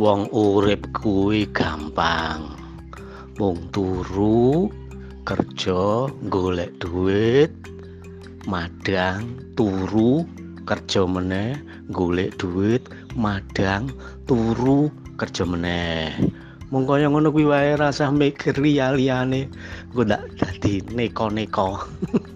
Wong urip kuwi gampang. Mung turu, kerja, golek duit, madang, turu, kerja meneh, golek duit, madang, turu, kerja meneh. Mung kaya ngono kuwi wae, rasah mikir liyane. Engko ndak dadi neko-neko.